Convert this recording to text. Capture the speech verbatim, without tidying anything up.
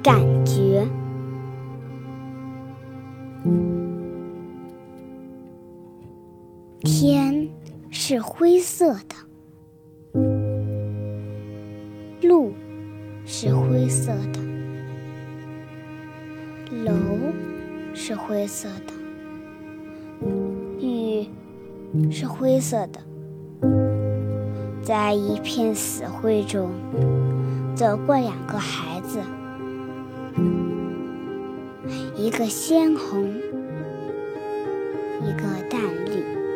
感觉。天是灰色的，路是灰色的，楼是灰色的，雨是灰色的。在一片死灰中走过两个孩子，一个鲜红，一个淡绿。